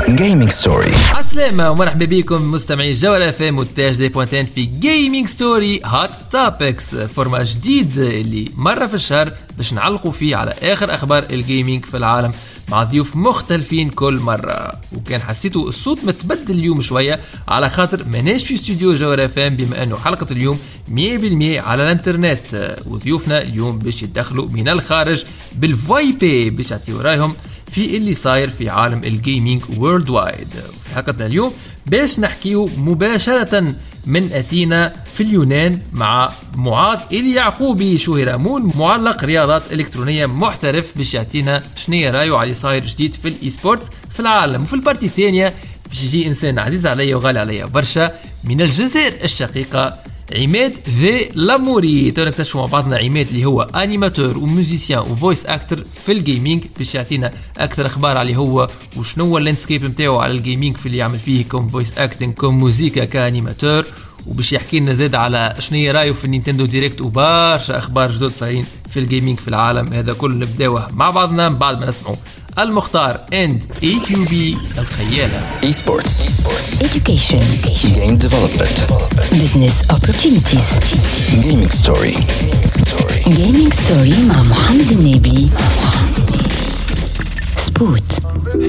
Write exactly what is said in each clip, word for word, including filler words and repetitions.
Gaming Story. عسلامة ومرحبا بكم مستمعي الجولة في مونتاج دي بوانتين في Gaming Story Hot Topics، فورما جديد اللي مرة في الشهر باش نعلقوا فيه على آخر أخبار الجيمينج في العالم مع ضيوف مختلفين كل مرة. وكان حسيتوا الصوت متبدل اليوم شوية على خاطر مناش في استوديو جوهرة فام، بما أنه حلقة اليوم مية بالمية على الانترنت، وضيوفنا اليوم باش يدخلوا من الخارج بالفاي بي باش يعطيوا رايهم في اللي صاير في عالم الجيمينج وورلد وايد. في حلقتنا اليوم باش نحكيو مباشرة من أثينا في اليونان مع معاذ اليعقوبي شهرامون، معلق رياضات إلكترونية محترف، باش يعطينا شنية رايو على صاير جديد في الإي سبورتس في العالم. وفي البارتي الثانية باش يجي إنسان عزيز عليا وغالي عليا برشا من الجزائر الشقيقة، عماد ذي لاموري. تو نكتشفوا مع بعضنا عماد اللي هو انيماتور وموزيسيان وفويس اكتر في الجيمنج، باش يعطينا اكثر اخبار عليه هو وشنو هو اللاندسكيب نتاعو على الجيمنج في اللي يعمل فيه كوم فويس اكتنج كوم موزيكا كانيماتور، وباش يحكي لنا زاد على شنو رايه في النينتندو دايركت وبرشا اخبار جدد صايرين في الجيمنج في العالم. هذا كله نبداوه مع بعضنا بعد ما نسمعوا المختار اند اي كيو بي الخيالة. Esports, Education. Game Development, Business Opportunities. Gaming Story. Gaming Story مع محمد النبي. سبوت.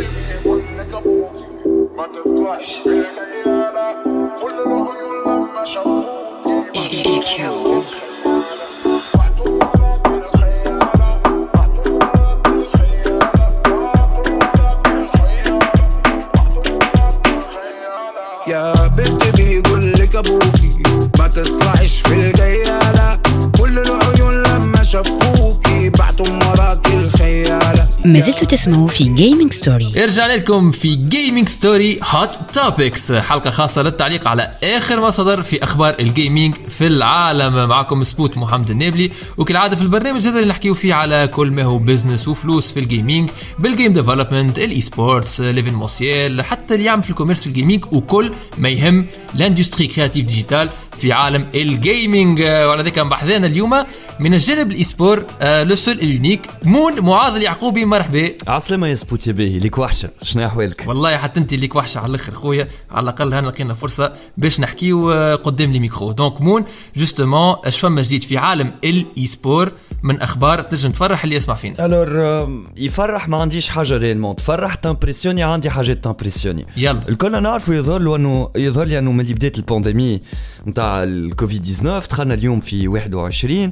يا بنتي بيقول لك ابوكي ما تطلعش في الجيالة، كل العيون لما شافوكي بعتوا وراكي الخيالة. ما زلتوا تسمعوا في Gaming Story. رجعنا لكم في جيمنج ستوري هوت توبكس، حلقة خاصة للتعليق على آخر ما صدر في أخبار الجيمنج في العالم. معكم سبوت محمد النبلي، وكالعادة في البرنامج هذا اللي نحكيه فيه على كل ما هو بيزنس وفلوس في الجيمنج، بالجيم ديفلوبمنت، الاي سبورتس، ليفينمونسيال، حتى اللي يعمل في الكوميرس في الجيمنج، وكل ما يهم لاندستري كرياتيف ديجيتال في عالم الجيمنج. وعلى ذلك بحثنا اليوم من الجانب الاي سبور لو سول اليونيك مون معاذ اليعقوبي. مرحبا. عسلامة يا سبوتي باهي، ليك وحشة، شنو احوالك؟ والله حتى انت ليك وحشة على الاخر خويا، على الاقل هنا لقينا فرصة باش نحكيو قدام لي ميكرو. دونك مون جوستومون اش فما جديد في عالم الاي سبور من اخبار تنجم تفرح اللي يسمع فينا؟ الور يفرح ما عنديش حاجة ريالمون تفرح، تامبريسيوني عندي حاجات تامبريسيوني. يلا الكل نعرفوا يظهر له انه يظهر لي انه من بداية البانديمي نتاع الكوفيد تسعطاش دخلنا اليوم في واحد وعشرين.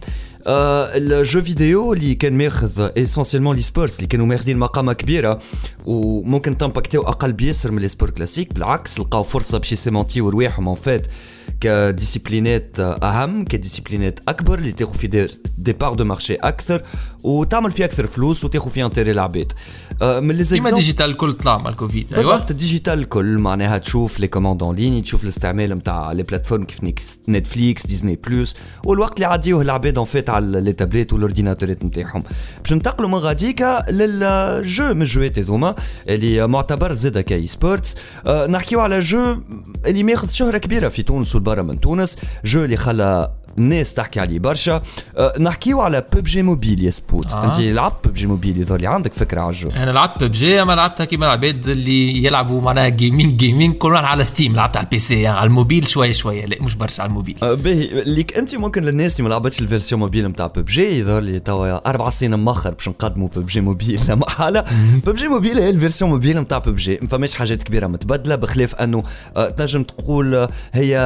آه الجو فيديو اللي كان ماخذ اسونسيلمون لي سبورتس اللي كانوا ماخذين مقامه كبيره وممكن تامباكتيو اقل بيسر من لي سبور كلاسيك، بالعكس لقاو فرصه باش يسيمونتيو رواحهم ان فات كديسيبلينات اهم، كديسيبلينات اكبر اللي تاخذ في دي, دي بار دو مارشي اكثر وتعمل فيه اكثر فلوس وتاخذ فيه انتري العباد. آه من لي زيكزامبل كيما ديجيتال كل طلع مع الكوفيد. ايوه الديجيتال كل معناها تشوف لي كوموند اون لين، تشوف الاستعمال نتاع لي بلاتفورم كيف نتفليكس، ديزني بلس، والوقت اللي عاديوه العباد ان فات على لي تابليت والاورديناتورات نتاعهم. باش ننتقلوا من غاديكا للجو من الجوات هذوما اللي معتبر زاده كاي سبورتس. أه نحكيو على جو اللي ماخذ شهره كبيره في تونس والبرا من تونس، جو اللي خلى الناس تحكي عليه برشا. أه نحكيو على ببجي موبيل يا سبوت. آه. انت لعبت ببجي موبيل، يظهر لي عندك فكره على الجو. انا لعبت ببجي، اما لعبتها كيما العباد اللي يلعبوا معناها جيمنج جيمنج كلهم على ستيم. لعبت على البي سي يعني على الموبيل شويه شويه، لا مش برشا على الموبيل. أه باهي ليك انت ممكن للناس اللي ما لعبتش الفيرسيون موبيل نتاع ببجي، يظهر لي توا اربع سنين مؤخر باش نقدموا ببجي موبيل لا محاله. ببجي موبيل هي الفيرسيون موبيل نتاع ببجي، ما فماش حاجات كبيره متبدله، بخلاف انه أه تنجم تقول هي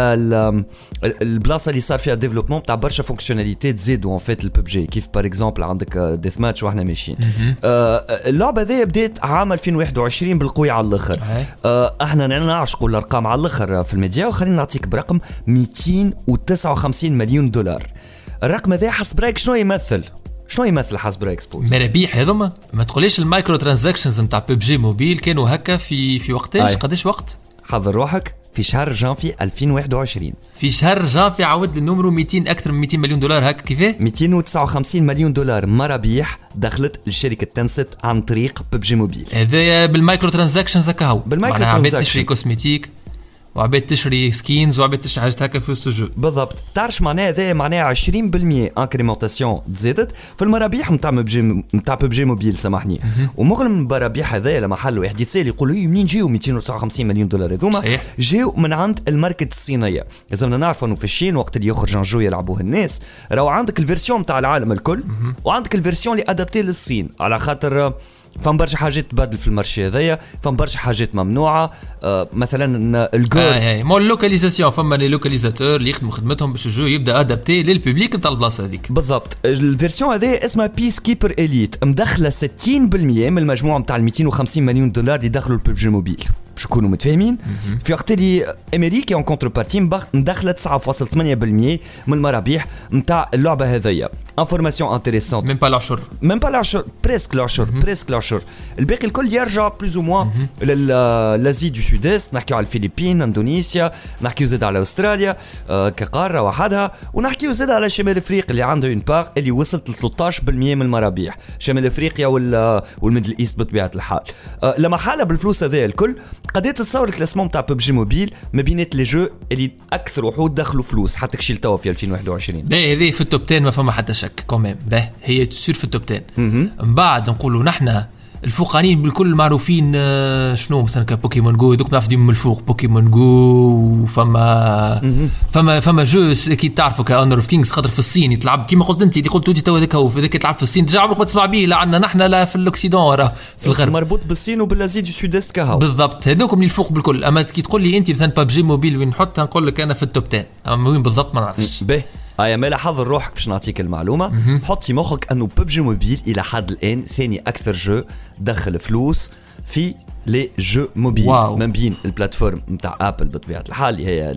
البلاصه اللي صار فيها ديفلوبمون نتاع برشا فونكسيوناليتي تزيدوا ان فيت الببجي، كيف بار اكزومبل عندك ديث ماتش واحنا ماشيين. آه اللعبه ذي بدات عام ألفين وواحد وعشرين بالقوي على الاخر. آه احنا نعشقوا الارقام على الاخر في الميديا، وخلينا نعطيك برقم مئتين وتسعة وخمسين مليون دولار. الرقم هذا حسب رايك شنو يمثل؟ شنو يمثل حسب رايك سبوت؟ مرابيح هذوما. ما تقوليش المايكرو ترانزاكشنز نتاع ببجي موبيل كانوا هكا في في وقتاش؟ قداش وقت؟ حضر روحك في شهر جانفي ألفين وواحد وعشرين. في شهر جانفي عاود النمرو مئتين، اكثر من مئتين مليون دولار هكا. كيفاه؟ مئتين وتسعة وخمسين مليون دولار مرابيح دخلت لشركه تنست عن طريق ببجي موبيل. هذا بالمايكرو ترانزاكشنز هكا هو. بالمايكرو ترانزاكشن تشري كوسميتيك وعبيد تشري سكينز وعبيد تشري حاجات هكا في وسط الجو. بالضبط. تعرف معناها هذا معناها عشرين بالمية انكريمونتاسيون تزادت في المرابيح نتاع ببجي نتاع ببجي موبيل سامحني. ومغلم المرابيح هذايا لما حل واحد يتسال يقول لي منين جاو مئتين وتسعة وخمسين مليون دولار هذوما؟ جاو من عند الماركت الصينيه. لازمنا نعرفوا انه في الصين وقت اللي يخرج ان جو يلعبوه الناس راهو عندك الفيرسيون نتاع العالم الكل وعندك الفيرسيون اللي ادابتي للصين على خاطر فهم برشا حاجات تبدل في المارشي هذايا، فهم برشا حاجات ممنوعه. آه مثلا الجول اه مو اللوكاليزاسيون فما لي لوكاليزاتور اللي يخدموا خدمتهم باش الجو يبدا ادابتي للبوبليك نتاع البلاصه هذيك. بالضبط. الفيرسيون هذه اسمها بيس كيبر اليت مدخله ستين بالمية من المجموع نتاع مئتين وخمسين مليون دولار اللي دخلوا الببجي موبيل. باش نكونوا متفاهمين في وقت اللي امريكا اون كونتر بارتي مدخله تسعة فاصلة ثمانية بالمية من المرابيح نتاع اللعبه هذيا. انفورماسيون انتريسونت ميم با العشر ميم با العشر بريسك العشر بريسك العشر. الباقي الكل يرجع بلوز او موان للازي دو سود است. نحكيو على الفلبين، اندونيسيا، نحكيو زاد على استراليا آه كقاره وحدها، ونحكيو زاد على شمال افريقيا اللي عنده اون باغ اللي وصلت ل ثلاثة عشر بالمية من المرابيح. شمال افريقيا والميدل ايست بطبيعه الحال. آه لما حاله بالفلوس هذا الكل قدرت تصور الكلاسمون تاع ببجي موبيل ما بينات لي جو اللي اكثر وحود دخلوا فلوس حتى كشيل توا في ألفين وواحد وعشرين. باهي هذه في التوب عشرة ما فما حتى شك كوميم. باهي هي تصير في التوب عشرة. من بعد نقولوا نحن الفوقانين بالكل معروفين شنو مثلا كبوكيمون جو دوك نعرف ديما من الفوق بوكيمون جو. فما فما فما جو كي تعرفوا كأونر اوف كينجز خاطر في الصين يتلعب كيما قلت انت اللي قلت انت تو هذاك هو في ذاك يتلعب في الصين ترجع عمرك ما تسمع به لا عندنا نحن لا في الاوكسيدون وراه في الغرب مربوط بالصين وبالازي دو سود است كهو. بالضبط هذوكم اللي الفوق بالكل. اما كي تقول لي انت مثلا ببجي موبيل وين نحطها نقول لك انا في التوب عشرة. اما وين بالضبط ما نعرفش. باهي ايا مالا حضر روحك باش نعطيك المعلومه. حط في مخك انه ببجي موبيل الى حد الان ثاني اكثر جو دخل فلوس في لي جو موبيل من بين البلاتفورم نتاع ابل بطبيعه الحال اللي هي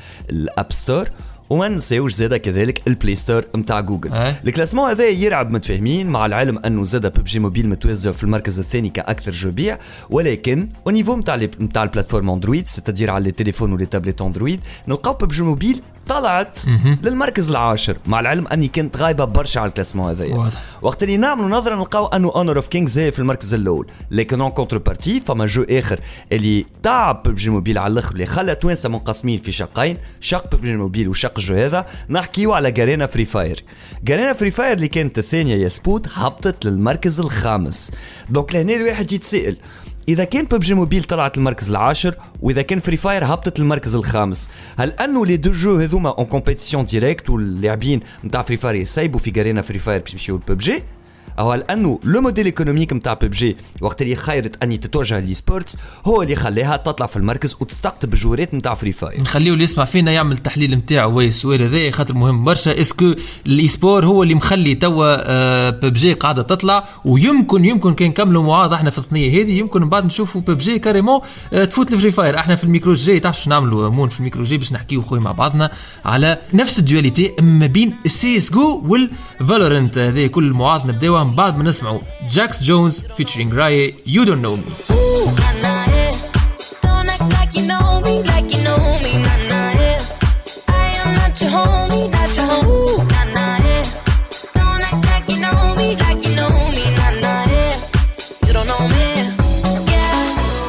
الاب ستور وما نساوش زاده كذلك البلاي ستور نتاع جوجل. أه؟ الكلاسمون هذا يرعب متفاهمين مع العلم انه زاده ببجي موبيل متوزع في المركز الثاني كاكثر جو بيع، ولكن او نيفو نتاع نتاع البلاتفورم اندرويد ستدير على التليفون ولي تابلت اندرويد نلقاو ببجي موبيل طلعت للمركز العاشر مع العلم اني كنت غايبه برشا على الكلاسمون هذايا. وقت اللي نعملوا نظره نلقاو انه اونر اوف كينجز هي في المركز الاول، لكن اون كونتر بارتي فما جو اخر اللي تاع ببجي موبيل على الاخر اللي خلى توانسه منقسمين في شقين، شق ببجي موبيل وشق الجو هذا. نحكيو على جارينا فري فاير. جارينا فري فاير اللي كانت الثانيه يا سبوت هبطت للمركز الخامس. دونك لهنا الواحد يتسائل إذا كان ببجي موبيل طلعت المركز العاشر وإذا كان فري فاير هبطت المركز الخامس، هل أنه لي دو جو هذوما اون كومبيتيسيون ديريكت واللاعبين نتاع فري فاير يسيبوا في جارينا فري فاير باش يمشيو لببجي؟ أو هل أنه لو موديل ايكونوميك نتاع ببجي وقت اللي خيرت أني تتوجه لي سبورتس هو اللي خليها تطلع في المركز وتستقطب الجورات نتاع فري فاير؟ نخليه اللي يسمع فينا يعمل التحليل نتاعو وي السؤال هذا خاطر مهم برشا. اسكو الاي سبور هو اللي مخلي توا ببجي قاعده تطلع ويمكن يمكن كان نكملوا معاض احنا في الثنيه هذه يمكن من بعد نشوفوا ببجي كاريمون تفوت الفري فاير. احنا في الميكرو الجاي تعرف شنو نعملوا مون في الميكرو الجاي باش نحكيو خويا مع بعضنا على نفس الدواليتي ما بين السي اس جو والفالورنت. هذه كل المعاض نبداوها من بعد ما نسمعوا Jax Jones featuring Rye, You Don't Know Me. Ooh, nah, nah, yeah. Don't act like you know me, like you know me, nah, nah, yeah. I am not your homie, not your homie, nah, nah, yeah. Don't act like you know me, like you know me, nah, nah, yeah. You don't know me, yeah.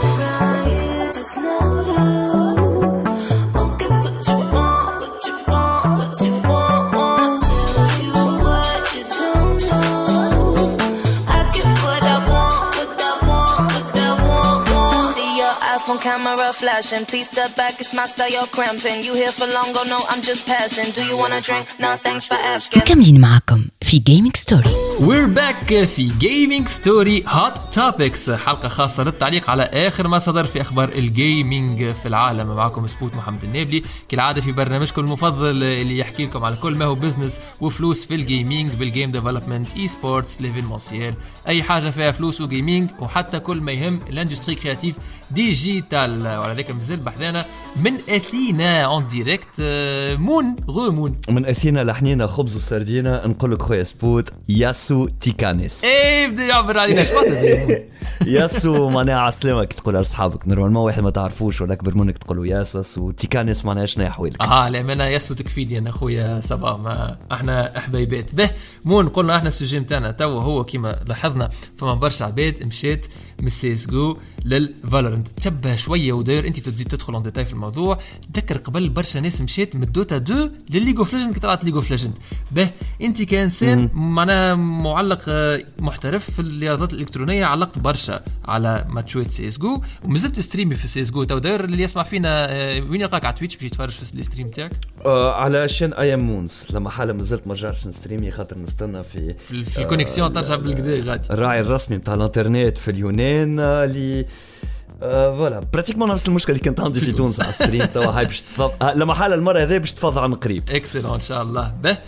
Rye, just know that. Okay, what you want, what you want, what you want, want. Tell you what you don't know. Camera flashing, please step back, it's my style, you're cramping. You here for long, go no, I'm just passing. Do you wanna drink? No, thanks for asking. مكملين معكم في Gaming Story. We're back في Gaming Story Hot Topics، حلقة خاصة للتعليق على آخر ما صدر في أخبار الجيمينج في العالم. معكم سبوت محمد النابلي كالعادة في برنامجكم المفضل اللي يحكي لكم على كل ما هو بزنس وفلوس في الجيمينج بالجيم ديفلوبمنت اي سبورتس ليفينمونسيال، أي حاجة فيها فلوس وجيمينج وحتى كل ما يهم الاندستري كرياتيف ديجيتال. وعلى ذلك المنزل بحذانا من أثينا اون ديريكت مون غو مون من أثينا لحنينا خبز وسردينة. نقول لك خويا سبوت يس ياسو تيكانيس. ايه بده يعبر علينا شبطه. ياسو معناها عسلامك تقول لاصحابك نورمالمون واحد ما تعرفوش ولا اكبر منك تقولوا ياسس وتيكانيس معناها شنو احوالك. اه لامانه ياسو تكفيلي انا خويا صبا ما احنا حبايبات به مون قلنا احنا السوجي نتاعنا تو هو كيما لاحظنا فما برشا عباد مشات من سي اس جو للفالورنت تشبه شويه وداير انت تزيد تدخل ان ديتاي في الموضوع. تذكر قبل برشا ناس مشات من دوتا اثنين للليج اوف ليجند كي طلعت ليج اوف ليجند به انت كانسان معناها معلق محترف في الرياضات الالكترونيه علقت برشا على ماتشات سي اس جو ومازلت ستريمي في سي اس جو تو داير اللي يسمع فينا وين يلقاك على تويتش باش يتفرج في الستريم تاعك آه على شان اي ام مونز لما حاله مازلت ما رجعتش نستريمي خاطر نستنى في في, في الكونيكسيون ترجع بالكدا غادي الراعي الرسمي نتاع الانترنت في اليونان اللي فوالا براتيكمون نفس المشكل اللي كنت عندي في تونس على الستريم توا هاي باش تفض لما حاله المره هذه باش تفضل عن قريب اكسلون ان شاء الله به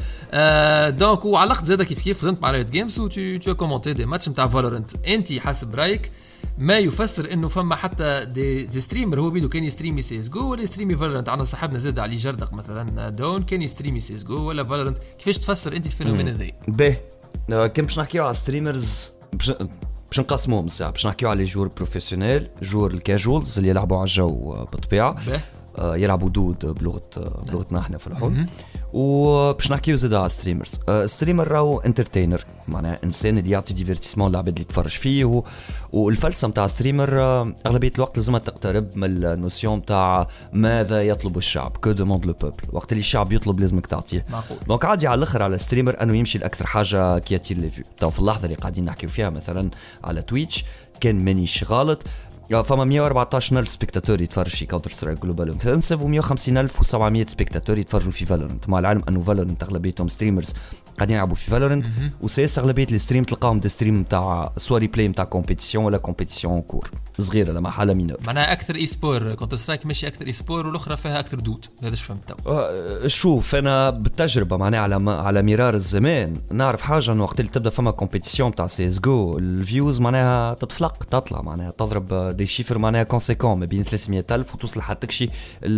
آه دونك وعلقت زاده كيف كيف خدمت مع رايت جيمز و تو تو كومونتي دي ماتش نتاع فالورنت انت حسب رايك ما يفسر انه فما حتى دي, دي ستريمر هو بيدو كان يستريمي سي اس جو ولا يستريمي فالورنت. عندنا صاحبنا زاد علي جردق مثلا دون كان يستريمي سي اس جو ولا فالورنت. كيفاش تفسر انت الفينومين هذا؟ به كان باش نحكيو على ستريمرز باش باش نقسموهم ساعه باش نحكيو على جور بروفيسيونيل جور الكاجوالز اللي يلعبوا على الجو بالطبيعه يلعبوا دود بلغه بلغتنا احنا في الحلم وباش نحكيو زاد على ستريمرز. ستريمر راهو انترتينر معناها انسان اللي يعطي ديفيرتيسمون للعباد اللي تفرج فيه والفلسفه نتاع ستريمر اغلبيه الوقت لازم تقترب من النوسيون نتاع ماذا يطلب الشعب كو دوموند لو بوبل. وقت اللي الشعب يطلب لازمك تعطيه. دونك عادي على الاخر على ستريمر انه يمشي لاكثر حاجه كياتير لي فيو. تو في اللحظه اللي قاعدين نحكيو فيها مثلا على تويتش كان مانيش غلط فما مية وأربعتاشر ألف سبيكتاتور يتفرج في كاونتر سترايك جلوبال اوفنسيف و150 ألف وسبعمية سبيكتاتور يتفرجوا في فالورنت. مع العلم انه فالورنت اغلبيتهم ستريمرز قاعدين يلعبوا في فالورنت وسيس اغلبيه الستريم تلقاهم دي ستريم تاع سواري بلاي نتاع كومبيتيسيون ولا كومبيتيسيون كور صغيره لما حاله مينور معناها اكثر اي سبور كاونتر سترايك ماشي اكثر اي سبور والاخرى فيها اكثر دود. هذا ايش فهمت أه شوف انا بالتجربه معناها على على مرار الزمان نعرف حاجه انه وقت اللي تبدا فما كومبيتيسيون تاع سي اس جو الفيوز معناها تتفلق تطلع معناها تضرب دي شيفر معناها كونسيكون ما بين ثلاثمية ألف وتوصل حتى تكشي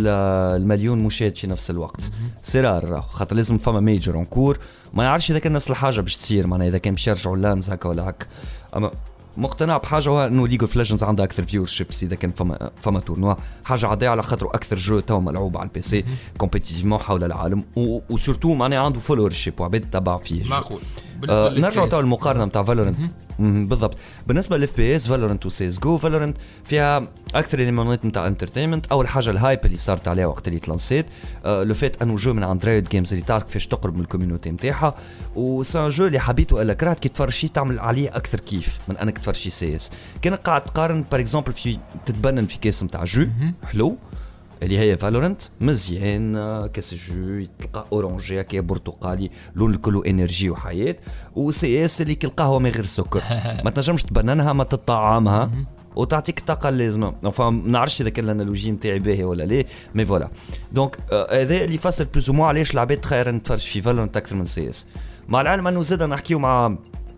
المليون مشاهد في نفس الوقت. سرار خاطر لازم فما ميجر اونكور ما يعرفش اذا كان نفس الحاجه باش تصير معناها اذا كان باش يرجعوا لانز هكا ولا هكا. اما مقتنع بحاجه هو انه ليج اوف ليجندز عندها اكثر فيور شيبس اذا كان فما فما تورنوا حاجه عاديه على خاطر اكثر جو تو ملعوب على البي سي كومبيتيتيفمون حول العالم وسورتو معناها عنده فولور شيب وعباد تبع فيه. معقول. آه نرجع تو المقارنه نتاع فالورنت بالضبط. بالنسبه للاف بي اس فالورنت وسيس جو فالورنت فيها اكثر اليمنات نتاع انترتينمنت. اول حاجه الهايب اللي صارت عليها وقت اللي تلانسيت آه لو فيت انه جو من عند رايت جيمز اللي تعرف كيفاش تقرب من الكوميونيتي نتاعها وسان جو اللي حبيته الا كرهت كي تفرج شي تعمل عليه اكثر كيف من انك تفرج شي سي اس. كان قاعد تقارن بار اكزومبل في تتبنن في كاس نتاع جو حلو اللي هي فالورنت مزيان كاس الجو تلقى اورانجي هكا برتقالي لون الكل انرجي وحياه وسي اس اللي كالقهوه من غير سكر ما تنجمش تبننها ما تطعمها وتعطيك الطاقه اللازمه. ما نعرفش اذا كان الانالوجي نتاعي باهي ولا لا مي فوالا. دونك هذا اللي يفسر بلوز مو علاش العباد تخير نتفرج في فالورنت اكثر من سي اس. مع العلم انه زاد نحكيو مع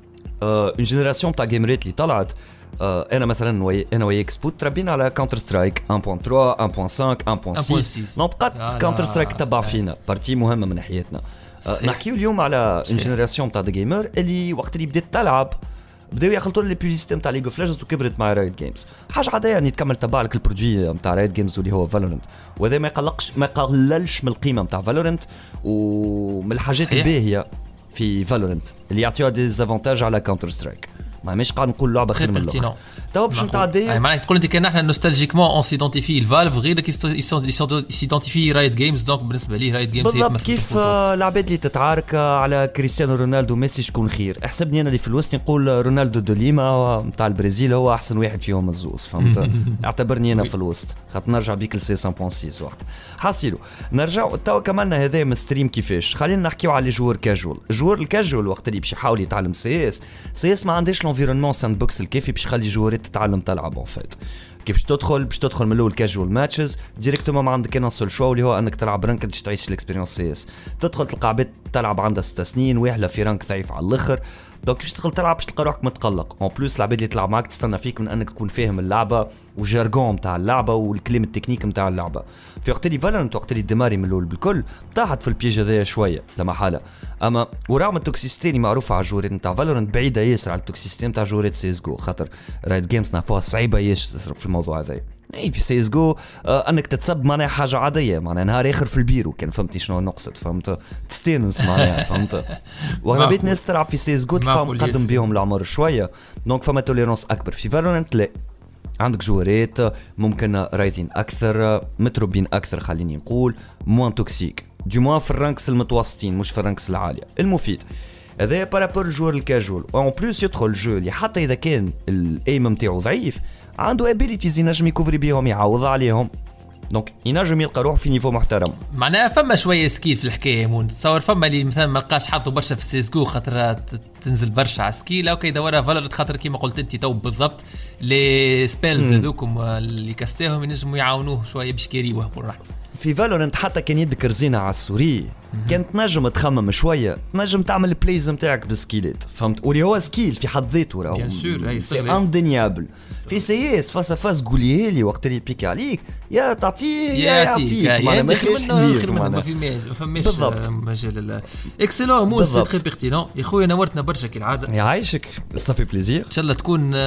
اون جينيراسيون تاع جيمريت اللي طلعت. آه انا مثلا وي انا وياك سبوت تربينا على كاونتر سترايك واحد نقطة ثلاثة واحد نقطة خمسة واحد نقطة ستة نو بقات كاونتر سترايك تبع فينا بارتي مهمه من حياتنا. آه نحكيو اليوم على اون جينيراسيون تاع جيمر اللي وقت اللي بدات تلعب بداو يخلطوا لي بيبليسيتي نتاع ليج اوف ليجندز وكبرت مع رايت جيمز. حاجه عاديه يعني تكمل تبع لك البرودوي نتاع رايت جيمز اللي هو فالورنت وهذا ما يقلقش ما يقللش من القيمه نتاع فالورنت ومن الحاجات الباهيه في فالورنت اللي يعطيوها ديزافونتاج على كاونتر سترايك. ما مش قاعد نقول لعبه خير من الاخرى تو باش نتعدي. اي معناتها تقول انت كان احنا نوستالجيكمون اون سيدونتيفي الفالف غيرك سيدونتيفي رايت جيمز. دونك بالنسبه لي رايت جيمز بالضبط كيف العباد اللي تتعارك على كريستيانو رونالدو ميسي شكون خير. احسبني انا اللي في الوسط نقول رونالدو دو ليما نتاع البرازيل هو احسن واحد فيهم الزوز فهمت. اعتبرني انا في الوسط خاطر نرجع بيك لسي مية فاصلة ستة وقت حاصلوا نرجع تو كملنا هذا من ستريم كيفاش. خلينا نحكيو على جوار كاجوال. جوار الكاجوال وقت اللي باش يحاول يتعلم سي اس سي اس ما عندهاش لونفيرونمون ساند بوكس الكافي باش يخلي جوارات تتعلم تلعب اون فيت. كيفاش تدخل باش تدخل من الاول كاجوال ماتشز ديريكتومون ما عندك انا سول شو اللي هو انك تلعب رانك باش تعيش الاكسبيرينس سي اس. تدخل تلقى عباد تلعب عندها ست سنين واحله في رانك ضعيف على الاخر، دونك باش تدخل تلعب باش تلقى روحك متقلق. اون بلوس العباد اللي تلعب معك تستنى فيك من انك تكون فاهم اللعبه والجارغون نتاع اللعبه والكلام التكنيك نتاع اللعبه. في وقت اللي فالورانت وقت اللي ديماري من الاول بالكل طاحت في البيج هذايا شويه لا محاله. اما ورغم التوكسيستي اللي معروفه على الجوريات نتاع فالورانت بعيده ياسر على التوكسيستي نتاع جوريات سي اس جو، خاطر رايت جيمز نعرفوها صعيبه ياسر في الموضوع هذا. اي في سي اس جو آه انك تتسب معناها حاجه عاديه، معناها نهار اخر في البيرو كان فهمتي شنو نقصد، فهمت تستانس معناها فهمت. واغلبيه الناس تلعب في سي اس جو تلقى مقدم بيهم العمر شويه، دونك فما توليرونس اكبر. في فالورانت لا، عندك جوارات ممكن رايزين اكثر متروبين اكثر خليني نقول موان توكسيك دي موان في الرانكس المتوسطين مش في الرانكس العاليه. المفيد هذا بارابور الجوار الكاجوال اون بلوس يدخل الجو اللي حتى اذا كان الايم نتاعو ضعيف عنده ابيليتيز ينجم يكوفري بيهم يعوض عليهم، دونك ينجم يلقى روح في نيفو محترم. معناها فما شويه سكيل في الحكايه مون. تصور فما اللي مثلا ما لقاش حظه برشا في السيس جو خاطر تنزل برشا على سكيل، اوكي دورها فالورانت خاطر كيما قلت انت تو بالضبط لي سبيلز هذوكم اللي كاستيهم ينجموا يعاونوه شويه باش كيري وهبوا الرحمه. في فالورانت حتى كان يدك رزينه على السوري كانت تنجم تخمم شويه، تنجم تعمل البلايز نتاعك بالسكيلات فهمت، واللي هو سكيل في حد ذاته راهو بيان سور اي سي اندينيابل. في سي اس فاس فاس قولي لي وقت اللي بيك عليك يا تعطيه يا يعطيك معناها ما فيش ندير ما فماش مجال. اكسلون مو سي تري بيرتينون يا خويا، نورتنا برشا كالعاده. يعيشك صافي بليزير. ان شاء الله تكون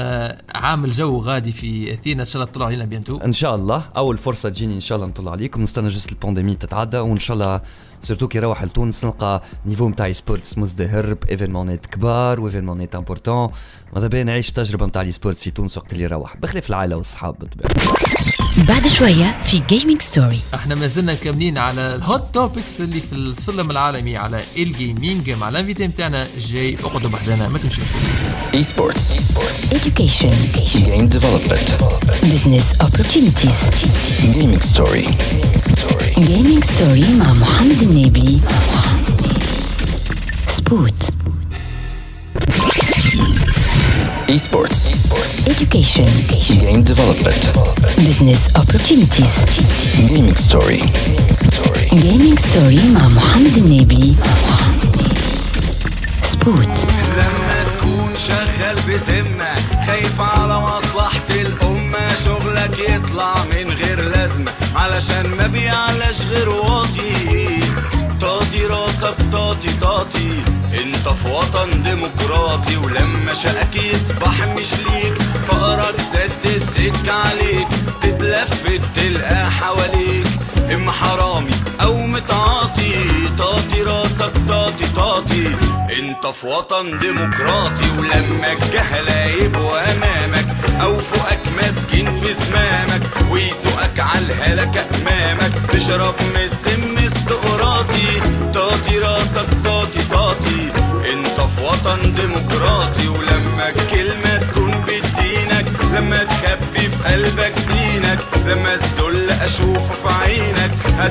عامل جو غادي في اثينا، ان شاء الله تطلع علينا بيانتو ان شاء الله. اول فرصه تجيني ان شاء الله نطلع عليكم، نستنى جست البانديمي تتعدى وان شاء الله سورتو كي روح لتونس نلقى نيفو نتاع سبورتس مزدهر بايفينمونات كبار وايفينمونات امبورطون. ماذا بيا نعيش تجربه نتاع سبورتس في تونس وقت اللي روح بخلاف العائله والصحاب بالطبيعه. بعد شويه في جيمنج ستوري احنا ما زلنا مكملين على الهوت توبكس اللي في السلم العالمي على الجيمنج مع الانفيتي نتاعنا جاي. اقعدوا بحذانا ما تمشوش. اي سبورتس education game development business opportunities gaming story جيمنج ستوري مع محمد النبي. سبوت esports education game development business opportunities gaming story جيمنج ستوري مع محمد النبي. سبوت لما تكون شغال بذمة خايف على مصلحة الأمة، شغلك يطلع من غير لازمة علشان ما بيعلاش غير واطي. طاطي راسك طاطي طاطي انت في وطن ديمقراطي، ولما شقك يصبح مش ليك فقرك سد السك عليك، تتلفت تلقى حواليك اما حرامي او متعاطي. طاطي راسك طاطي طاطي انت في وطن ديمقراطي، ولما الجهلة يبقوا امامك او فوقك ماسكين في زمامك ويسوقك على الهلكة امامك تشرب من السم السقراطي. طاطي راسك طاطي طاطي انت في وطن ديمقراطي، ولما الكلمة تكون بدينك، لما تخبي في قلبك دينك، لما الذل اشوفه في عينك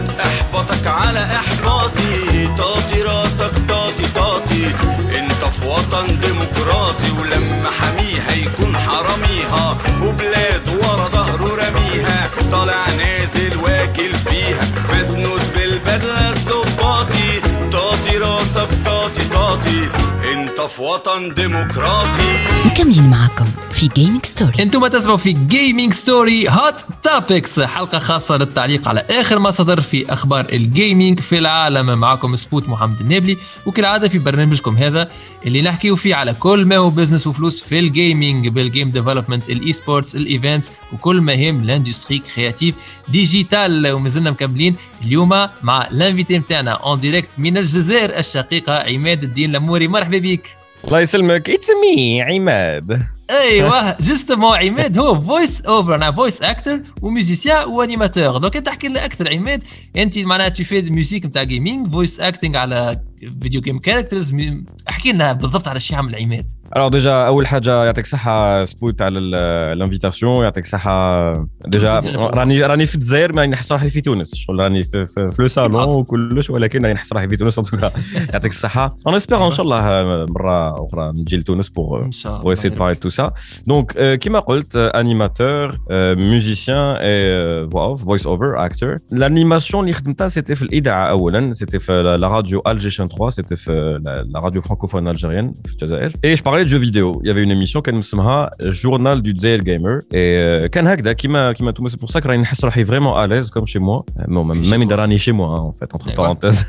هتحبطك على احباطي. طاطي راسك طاطي طاطي انت في وطن ديمقراطي، ولما حميها يكون حراميها وبلاد ورا ظهره رميها، طالع نازل واكل فيها مسنود بالبدلة الظباطي. طاطي راسك طاطي طاطي انت في وطن ديمقراطي. مكملين معكم في جيمنج ستوري. انتم تسمعوا في جيمنج ستوري هوت توبكس، حلقه خاصه للتعليق على اخر ما صدر في اخبار الجيمنج في العالم. معكم سبوت محمد النابلي، وكالعاده في برنامجكم هذا اللي نحكيو فيه على كل ما هو بزنس وفلوس في الجيمنج، بالجيم ديفلوبمنت، الاي سبورتس، الايفنتس، وكل ما يهم لاندستري كرياتيف ديجيتال. ومازلنا مكملين اليوم مع الانفيتي نتاعنا اون ديريكت من الجزائر الشقيقه عماد الدين لموري. مرحبا بك. الله يسلمك. اتس مي عماد. ايوه جوستومون عماد هو فويس اوفر، انا فويس اكتر وميوزيسيان وانيماتور. دونك انت احكي لنا اكثر عماد، انت معناها تو في ميوزيك نتاع جيمنج، فويس اكتينغ على فيديو جيم كاركترز. احكي لنا بالضبط على الشيء عمل عماد. Alors déjà اول حاجه يعطيك صحه سبوت على الانفيتاسيون، يعطيك صحه. ديجا راني راني في الجزائر ما نحس روحي في تونس، شغل راني في في, في لو صالون وكلش، ولكن راني نحس روحي في تونس. يعطيك الصحه. اون اسبير ان شاء الله مره اخرى نجي لتونس بور بور اسي دو باري تو سا. دونك كيما قلت انيماتور ميوزيسيان اي فويس اوفر اكتور. الانيماسيون اللي خدمتها سيتي في الاذاعه اولا، سيتي في لا راديو الجيشن ثلاثة، سيتي في لا راديو فرانكوفون الجيريان في الجزائر. اي je parlais de jeux vidéo. Il y avait une émission كان اسمها Journal du Jazair Gamer et كان هكذا كيما كيما توما. C'est pour ça que راني نحس روحي vraiment à l'aise comme chez moi. Même راني chez moi en fait entre parenthèses.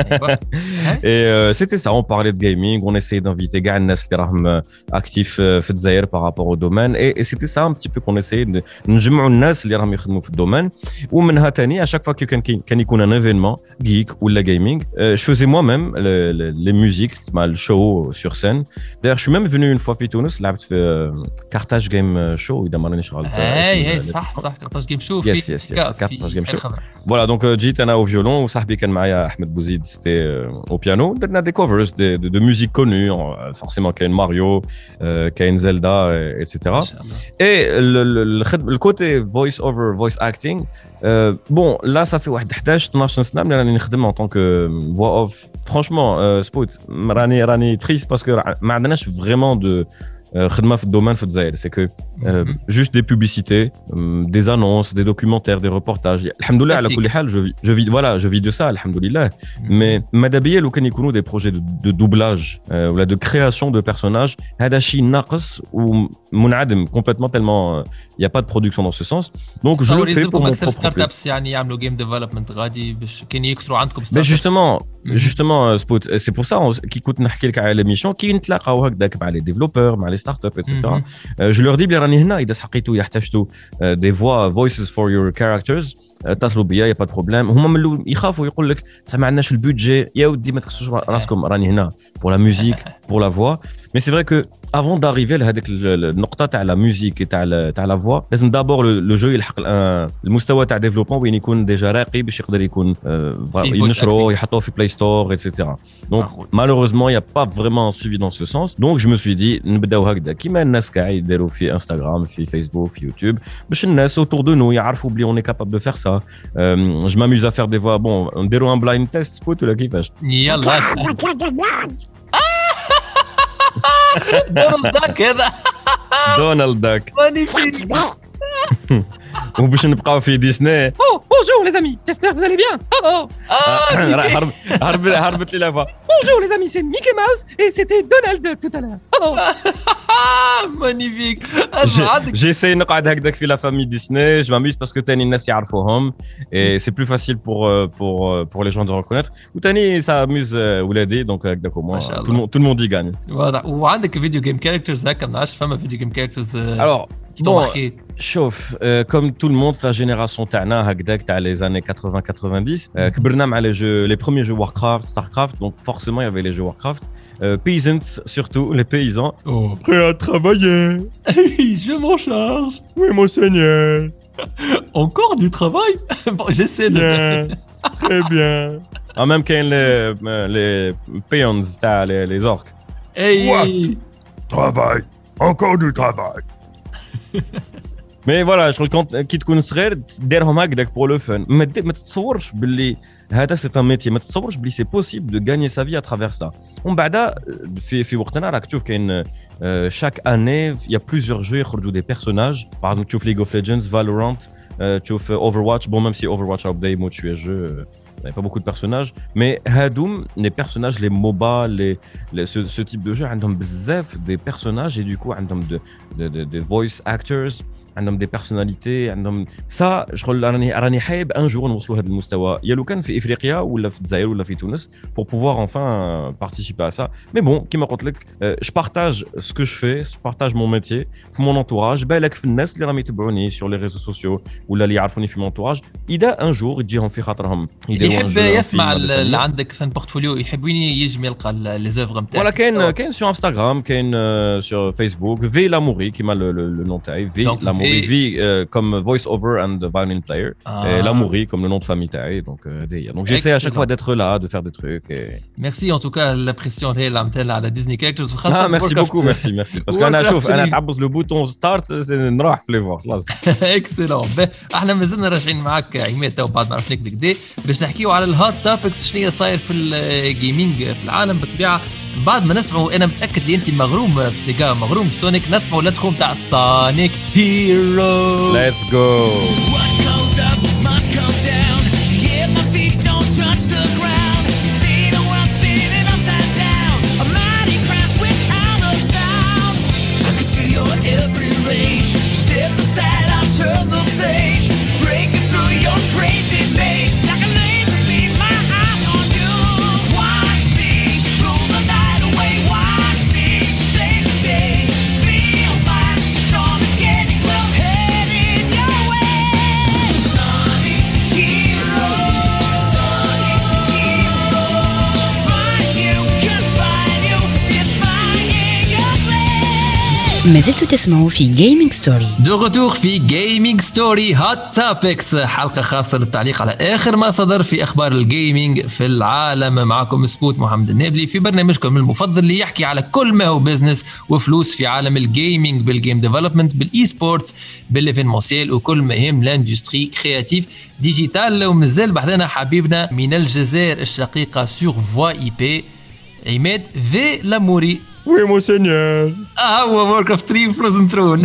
Et euh, c'était ça, on parlait de gaming, on essayait d'inviter كاع الناس اللي راهم actifs في الجزائر par rapport au domaine et, et c'était ça un petit peu qu'on essayait de نجمعوا الناس اللي راهم يخدموا في الدومين. ومنها ثاني à chaque fois que كان كان يكون un événement geek ولا gaming, euh, je faisais moi-même les, les, les musiques, le show sur scène. D'ailleurs je suis même venu une fois في تونس، لعبت في كارتاج جيم شو اذا ما رانيش غلط. اي اي صح صح كارتاج جيم شو في كارتاج جيم شو. Voilà donc جيت انا au violon وصاحبي كان معايا احمد بوزيد c'était au piano. درنا des covers de, de, de musique connue, forcément كاين ماريو كاين زلدا et cetera. Et le, le, le côté voice over voice acting, euh, bon là ça fait واحد احداش اثناش سنه ملي راني نخدم en tant que voix off. Franchement سبوت راني راني triste parce que ما عندناش vraiment de خدمه في الدومين في الجزائر. c'est que euh, juste des publicités, euh, des annonces, des documentaires, des reportages. alhamdoulilah على كل حال je vis je vis voilà je vis de ça alhamdoulilah. mais ماذا بيا لو كان يكونوا des projets de, de doublage euh, ou de création de personnages هذا شيء ناقص ومنعدم complètement tellement il y a pas de production dans ce sens. donc je le fais pour mon propre ستارت ابس يعني يعملوا جيم ديفلوبمنت غادي باش كان يكثروا عندكم ستارت ابس. justement justement spot c'est pour ça كي كنت نحكي لك على ليميسيون كي نتلاقاو هكذاك مع لي ديفلوبور مع لي ستارت اب et cetera. je leur dis بلي راني هنا اذا حقيتوا يحتاجوا des voix voices for your characters اتصلوا بيا يا با دو بروبليم. هما من يخافوا يقول لك ما عندناش البودجي يا ودي ما تكسوش راسكم راني هنا pour la musique pour la voix. mais c'est vrai que avant d'arriver لهذيك النقطه تاع لا ميوزيك تاع تاع لا فوا لازم دابور لو جو يلحق المستوى تاع ديفلوبمون وين يكون ديجا راقي باش يقدر يكون ينشروه يحطوه في بلاي ستور ايتترا. دونك malheureusement il y a pas vraiment suivi dans ce sens. donc je me suis dit نبداو هكذا كيما الناس كاع يديروا في انستغرام في فيسبوك في يوتيوب باش الناس autour de nous يعرفوا بلي on est capable de faire ça. euh, je m'amuse à faire des voix. bon نديروا un blind test سبوت ولا كيفاش؟ يلا دونالد داك هذا دونالد داك مانيفيك. وباش نبقاو في ديسني. او بونجور لي زامي جيسبر فوز الي بيان. او هرب هرب هربت لي لافا. بونجور لي زامي سي ميكي ماوس اي سيتي دونالد داك تو تالور. مانيفيك. جيساي نقعد هكذاك في لا فامي ديسني. جو ماميز باسكو تاني الناس يعرفوهم اي سي بلو فاسيل بور بور بور لي جون دو ريكونيتر. وتاني سا اميوز ولادي دونك هكذاك مو تو الموند يغاني. واضح. وعندك فيديو جيم كاركترز هكا ما نعرفش فما فيديو جيم كاركترز. الوغ شوف كوم تو الموند في لا جينيراسيون تاعنا هكذاك تاع لي زاني ثمانين تسعين كبرنا مع لي جو لي بروميير جو واركرافت ستاركرافت. دونك فورسيمون يافي لي جو واركرافت. peasants surtout les paysans. oh. prêts à travailler. je m'en charge. oui mon seigneur. encore du travail. bon j'essaie de bien. très bien. en même qu'il les les peons تاع les, les orques. hey. What? travail encore du travail. مي فوالا شغل كونت كي تكون صغير ديرهم هكذاك بور لو فن. ما تتصورش باللي هذا سي ان ميتي. ما تتصورش باللي سي بوسيبل دو غاني سا في اترافير سا. ومن بعد في في وقتنا راك تشوف كاين شاك اني يا بليزيور جو يخرجوا دي بيرسوناج. باغ اكزومبل تشوف ليغ اوف ليجندز فالورانت تشوف اوفر واتش. بون ميم سي اوفر واتش ا بدا يموت شويه جو il n'y a pas beaucoup de personnages, mais Hadoum, les personnages, les MOBA, les, les, ce, ce type de jeu, ils ont bzaf des personnages et du coup, ils ont de, de, de, de voice actors, عندهم دي بيرسوناليتي عندهم سا شغل راني راني حابب ان جور نوصلوا هذا المستوى يا لو كان في افريقيا ولا في الجزائر ولا في تونس pour pouvoir enfin participer à ça. mais bon كيما قلت لك je partage ce que je fais, je partage mon métier في mon entourage. بالك في الناس اللي راهم يتبعوني sur les réseaux sociaux ولا اللي يعرفوني في mon entourage اذا ان جور يجيهم في خاطرهم يحب يسمع اللي عندك في بورتفوليو يحب وين يجي يلقى لي زوفر نتاعك. ولا كاين كاين sur Instagram كاين sur Facebook في لاموري كيما لو نون تاعي في لاموري Morivi euh, comme voice over and violin player, Ah. et Lamouri comme le nom de famille taille. Donc, euh, donc j'essaie à chaque Excellent. fois d'être là, de faire des trucs. Et... Merci en tout cas l'impression اللي عملتها على ديزني كاركترز Ah, merci beaucoup, merci, merci. Parce qu'un chauffe, un تعبس le bouton start, c'est نروح في les voir. خلاص. اكسلون. احنا مازلنا راجعين معاك عماد تو بعد ما عرفناك بالكدا باش نحكيو على الهوت توبكس شنو صاير في الجيمنج في العالم بالطبيعه. بعد ما نسمعوا انا متاكد اللي انت مغروم بسيجا مغروم بسونيك نسمعوا الانترو تاع سونيك هيرو. Let's go. What goes up must come down. Yeah, my feet don't touch the ground. See the world spinning upside down. A mighty crash without a sound. I can feel your every rage. Step aside, I'll turn the page. Breaking through your crazy maze. Like a laser beam, my eyes on you. Watch me rule the night away. Watch me save the day. Feel my storm is getting close. Heading your way. Sonic hero. Sonic hero. Find you, confine you. Defying your blade. ما زلتوا تسمعوا في جيمنج ستوري. دو غتور في جيمنج ستوري هوت توبكس، حلقة خاصة للتعليق على آخر ما صدر في أخبار الجيمنج في العالم. معكم سبوت محمد النابلي في برنامجكم المفضل اللي يحكي على كل ما هو بزنس وفلوس في عالم الجيمنج، بالجيم ديفلوبمنت، بالإي سبورتس، بالإيفينمونسيال، وكل ما يهم لاندستري كرياتيف ديجيتال. ومازال بحذنا حبيبنا من الجزائر الشقيقة سور فوا اي بي عماد ذي لاموري. Oui, monseigneur. اه هو وورك اوف ثلاثة فروزن ترون.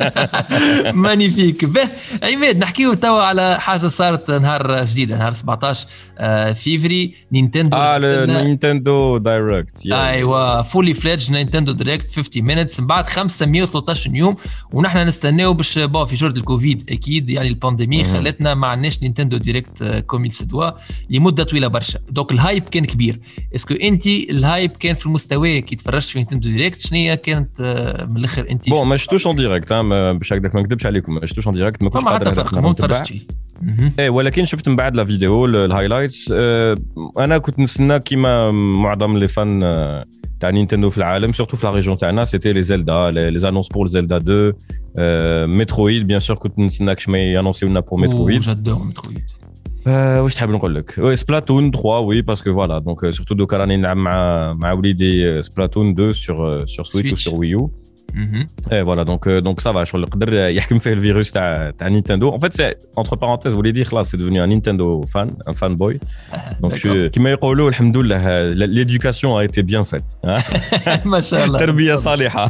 مانيفيك. به عماد نحكيو توا على حاجه صارت نهار جديده نهار سبعطاش فيفري نينتندو. Ah, le Nintendo Direct. Yeah. ايوا فولي فليدج نينتندو دايركت خمسين مينتس من بعد خمسمية وثلاثة عشر يوم، ونحن نستناو باش بون في جرد الكوفيد اكيد يعني البانديمي خلتنا ما عندناش نينتندو دايركت كوميل سدوا لمده طويله برشا. دونك الهايب كان كبير. اسكو انت الهايب كان في المستوى كي تفرجت في نينتندو دايركت شنو كانت من الاخر انت؟ بون ما شفتوش اون ديريكت باش هكذاك ما نكذبش عليكم، ما شفتوش اون ديريكت، ما كنتش ما قادر حتى فرق ما تفرجتش. ايه ولكن شفت من بعد لا فيديو الهايلايتس. انا كنت نستنى كيما معظم لي فان تاع نينتندو في العالم سورتو في لا ريجون تاعنا سيتي لي زلدا لي زانونس بور زلدا اثنين مترويد. بيان سور كنت نستناك شما يانونسيو لنا بور مترويد. جادور مترويد. Euh, واش تحب نقول لك؟ وي سبلاتون ثلاثة وي باسكو فوالا دونك سورتو دوكا راني نلعب مع مع وليدي سبلاتون اثنين سور سور سويتش وسور ويو. اي فوالا دونك دونك سافا شغل يقدر يحكم فيه الفيروس تاع تاع نينتندو. ان فيت سي انتر بارونتيز وليدي خلاص سي ديفوني ان نينتندو فان ان فان بوي. دونك كيما يقولوا الحمد لله ليدوكاسيون ا ايتي بيان فيت. ما شاء الله. تربيه صالحه.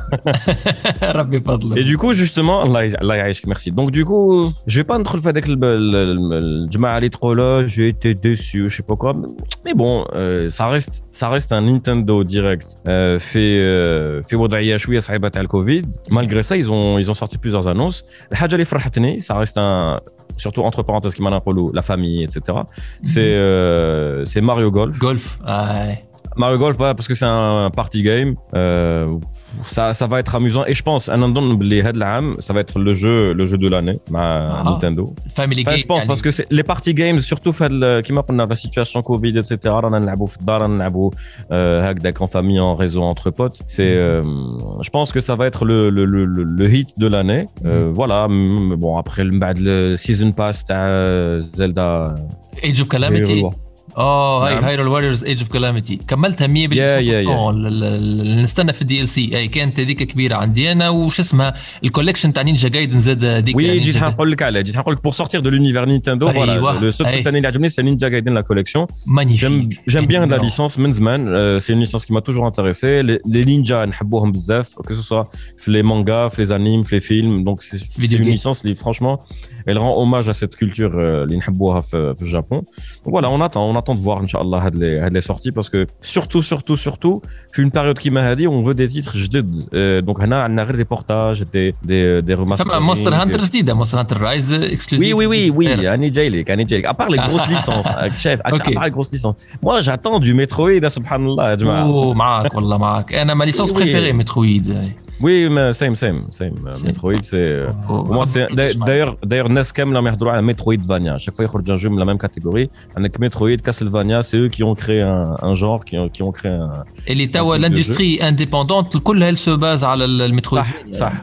ربي فضله. Et du coup justement الله الله يعيشك ميرسي. Donc du coup je vais pas ندخل في هذاك الجماعه اللي تقولوا j'ai été déçu je sais pas quoi mais bon euh, ça reste ça reste un Nintendo Direct euh, في euh, في وضعيه شويه صعيبه تاع الكوفيد. malgré ça ils ont ils ont sorti plusieurs annonces. الحاجه اللي فرحتني ça reste un surtout entre parenthèses كيما نقولوا la famille et cetera. c'est euh, c'est Mario Golf. Golf. Ah. Mario Golf parce que c'est un party game. Euh, ça ça va être amusant et je pense un نظن بلي هذا العام ça va être le jeu le jeu de l'année مع Nintendo. Family game. Je pense parce que c'est les party games surtout في كيما قلنا la situation Covid et cetera رانا نلعبوا في الدار رانا نلعبوا هكذاك en famille en réseau entre potes. C'est euh, je pense que ça va être le le le le hit de l'année. Euh, voilà bon après من بعد le season pass تاع Zelda Age of Calamity. اه هاي هايرول واريورز ايج اوف كلاميتي كملتها مية بالمية. نستنى في الدي ال سي اي كانت هذيك كبيره عندي انا. وش اسمها الكوليكشن تاع نينجا جايدن زاد هذيك. وي جيت نقول لك على جيت نقول لك بور سورتير دو لونيفير نينتندو فوالا لو سول ثاني اللي عجبني سي نينجا جايدن لا كوليكسيون. مانيفيك. جيم بيان لا ليسونس من زمان. سي اون ليسونس كي ما توجور انتريسي. لي نينجا نحبوهم بزاف كو سو سوا في لي مانغا في لي انيم في لي فيلم. دونك سي اون ليسونس اللي فرانشمون elle rend hommage à cette culture اللي نحبوها في في الجابون. voilà on attend on attend de voir inchallah هاد لي هاد لي sorties parce que surtout surtout surtout في une période كيما هذه on veut des titres جدد. donc هنا عندنا غير دي بورتاج دي دي دي ريماستر. مونستر هانتر جديده مونستر هانتر رايز اكسكلوزيف. وي وي وي وي راني جاي لك راني جاي لك ابار لي غروس ليسونس شايف ابار لي غروس ليسونس. moi j'attends du Metroid سبحان الله يا جماعه. اوه معاك والله معاك. انا ما ليسونس بريفيري مترويد. Oui, mais same, same, same. Metroid, c'est. Pour moi, c'est. D'ailleurs, d'ailleurs, N E S كامل ما يهضروا على Metroidvania. Chaque fois, ils يخرج un jeu de la même catégorie. Avec Metroid, Castlevania, c'est eux qui ont créé un, un genre, qui ont, qui ont créé un. اللي توا l'industrie indépendante كلها elle se base على المترويد. صح صح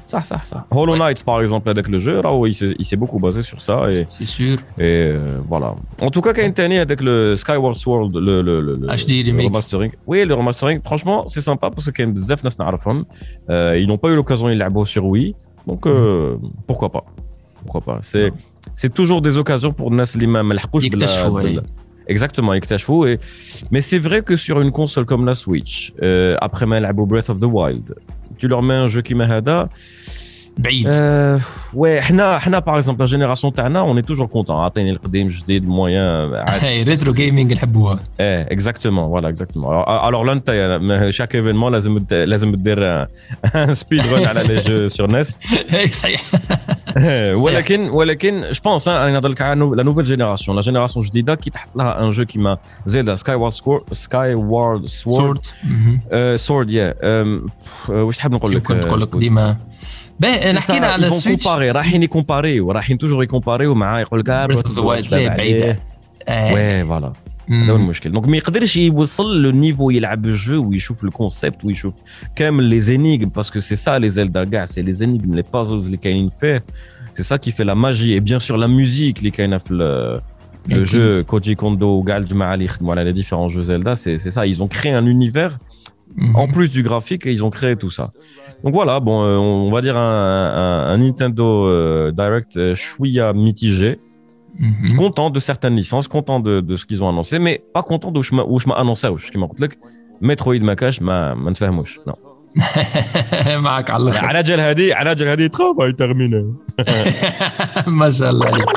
صح صح صح. Hollow Knight par exemple avec le jeu, là, il s'est, il s'est beaucoup basé sur ça et c'est sûr. Et euh, voilà. En tout cas, quand il y a avec le Skyward Sword, le le le, le, H D remake. le remastering. Oui, le remastering. Franchement, c'est sympa parce que quand même bzaf nas na'rafhom, euh, ils n'ont pas eu l'occasion de jouer sur Wii, donc euh, mm-hmm. pourquoi pas. Pourquoi pas. C'est c'est toujours des occasions pour nas li ma malhaqouch bla. Exactement, يكتشفوا. Et mais c'est vrai que sur une console comme la Switch, euh, après ما لعبوا Breath of the Wild, tu leur mets un jeu qui m'a هذا بعيد. Euh, ouais, حنا حنا par exemple la génération تاعنا, on est toujours content. عطيني القديم جديد moyen. Rétro gaming نحبوها. Eh, exactement, voilà, exactement. Alors, alors là, انت chaque événement لازم لازم تدير un speed run على les jeux sur N E S. صحيح. ولكن ولكن je pense hein, نهضر لك على la nouvelle génération, la génération جديدة qui تحط لها un jeu qui m'a زيد Skyward Sword, Skyward Sword, Sword, yeah. واش تحب نقول لك؟ كنت نقول لك ديما باهي نحكينا على السويتش. رايحين يكومباريو رايحين توجور يكومباريو مع يقول لك Breath of the Wild بعيدة. وي فوالا هذا هو المشكل. دونك ما يقدرش يوصل لو نيفو يلعب الجو ويشوف الكونسيبت ويشوف كامل لي زينيغم باسكو سي سا لي زيلدا كاع سي لي زينيغم لي بازلز اللي كاينين فيه سي سا كي في لا ماجي اي بيان سور لا موزيك اللي كاينه في le jeu Koji Kondo وكاع الجماعه اللي يخدموا على les différents jeux Zelda, c'est c'est ça, ils ont créé un univers en plus du graphique et ils ont créé tout ça. Donc voilà, bon, euh, on va dire un, un, un Nintendo euh, Direct euh, chouïa mitigé. Mm-hmm. Content de certaines licences, content de, de ce qu'ils ont annoncé, mais pas content de où je m'ai annoncé. Je m'ai dit que Metroid ma cache, ma ma nfahmouch. Non. معك على الاخر. على جال هذه على جال هذه travail terminé. ما شاء الله عليك.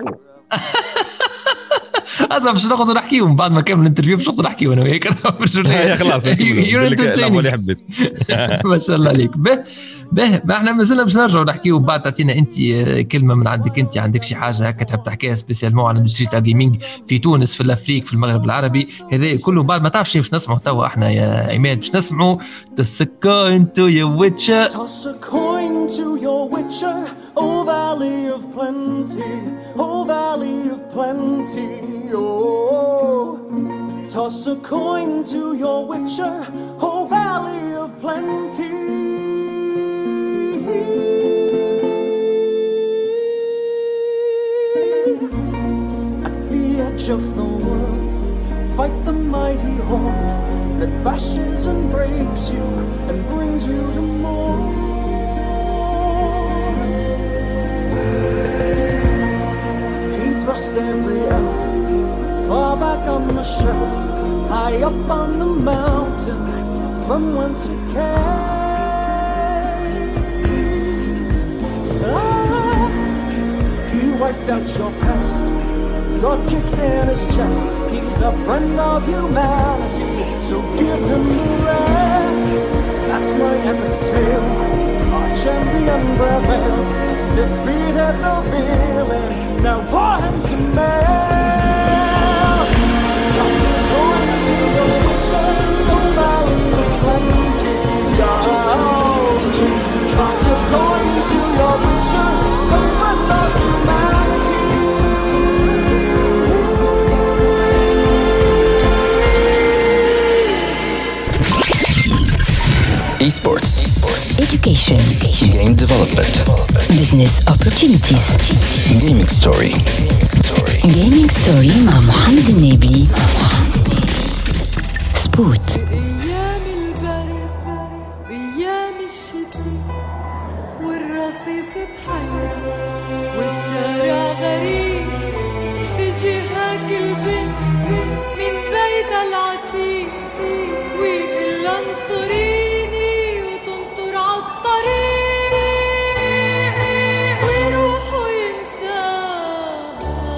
أصلاً مش نقصد نحكيهم بعد ما كمل الانترفيو مش نقصد نحكيهم أنا وياك يا خلاص اللي حبيت. ما شاء الله عليك. به به ما احنا مازلنا باش نرجعوا نحكيوا بعد. تعطينا أنت كلمة من عندك، أنت عندك شي حاجة هكا تحب تحكيها سبيسيالمون على الاندستري تاع الجيمنج في تونس في الأفريق في المغرب العربي هذا كله بعد ما تعرف شيء باش نسمعوا توا احنا يا عماد باش نسمعوا Toss a coin to your witcher. Toss a coin to your witcher, oh valley of plenty, oh valley of plenty. Oh, toss a coin to your witcher, oh valley of plenty. At the edge of the world, fight the mighty horde that bashes and breaks you and brings you to more. He thrust every elf far back on the shelf, high up on the mountain from whence it came. Ah, he wiped out your past, God kicked in his chest. He's a friend of humanity, so give him the rest. That's my epic tale. Our champion prevailed, defeated the villain. Now pour him some mail. Toss a coin to the witcher, the valley of plenty. Toss a coin to your witcher, the friend of humanity. Esports. Esports. Education. Education. Game development. Business opportunities. Gaming story. Gaming story مع محمد النبي. سبوت. أيام البرد أيام الشتاء والرصيف بحيرة والشارع غريب تجيهك البنت من بيت العتيق ويقول انطريني وتنطر عالطريق ويروحوا ينساها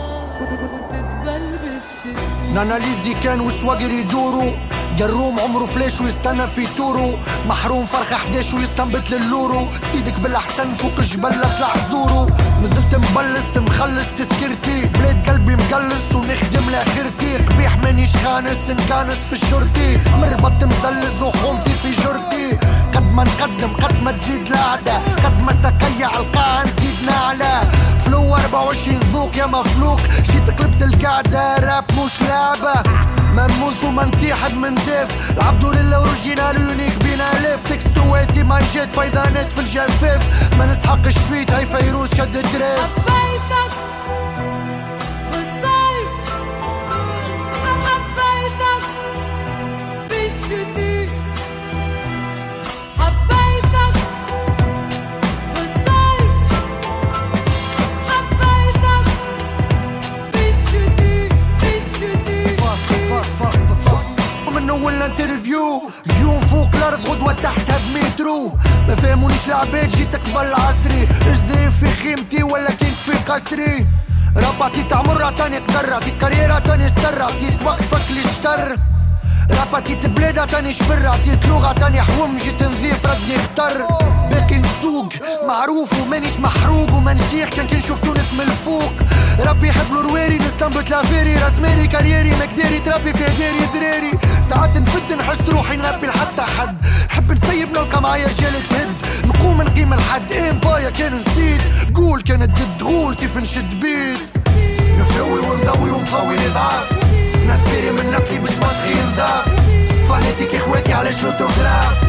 وتتبل بالشتاء. ناناليزي كان وسواقر يدوروا جروم عمره فلاش ويستنى في تورو محروم فرخة حداش ويستنبت للورو سيدك بالأحسن فوق الجبل اطلع زورو نزلت مبلس مخلص تسكرتي بلاد قلبي مقلص ونخدم لاخرتي قبيح مانيش خانس نكانس في الشرطي مربط مزلز وحومتي في جرتي قد ما نقدم قد ما تزيد العادة قد ما سقيع القاع نزيد نعلى فلو أربعة وعشرين ذو مخلوق يا مخلوق جيت قلبت القعدة راب مش لعبة ما نموت وما نتيحد من دف العبدو للأوريجينال يونيك بينا لف تكستواتي ما نجد فايدانات في الجفاف ما نسحقش فيت هاي فيروز شد الدريف حبيتك بالصيف حبيتك بالشتي حبيتك بالصيف حبيتك بالشتي بالشتي من اول انترفيو اليوم فوق الارض غدوة تحتها بمترو ما فهمونيش العباد جيت قبل عصري اجدي في خيمتي ولا كنت في قصري ربعتي تعمر عطاني تقرع عطيت كاريرا عطاني استر عطيت وقت فك لي اشتر ربعتي تبلاد عطاني شبر عطيت لغة عطاني حوم جيت نضيف ردني اختر باقي نسوق معروف ومانيش محروق وما نشيخ كان كي نشوف تونس من الفوق ربي يحب الرواري نستنبط لافيري راس مالي كاريري مقداري تربي في داري ذراري ساعات نفد نحس روحي نربي لحتى حد نحب نسيب نلقى معايا رجال تهد نقوم نقيم الحد امبايا كان نسيت قول كانت قد غول كيف نشد بيت نفلوي ونضوي ونقوي نضعف ناس فيري من نسلي مش مسخي نضاف فانيتك اخواتي على شوتوغراف